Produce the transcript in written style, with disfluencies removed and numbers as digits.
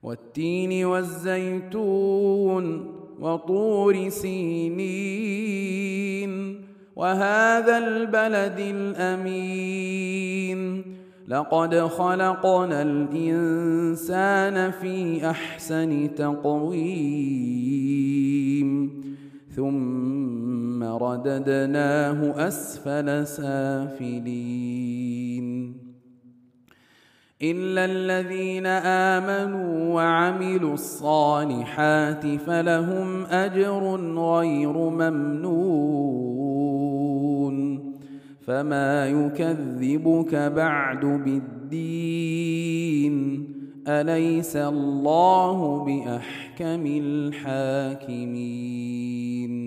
والتين والزيتون وطور سينين وهذا البلد الأمين لقد خلقنا الإنسان في أحسن تقويم ثم رددناه أسفل سافلين إلا الذين آمنوا وعملوا الصالحات فلهم أجر غير ممنون فما يكذبك بعد بالدين أليس الله بأحكم الحاكمين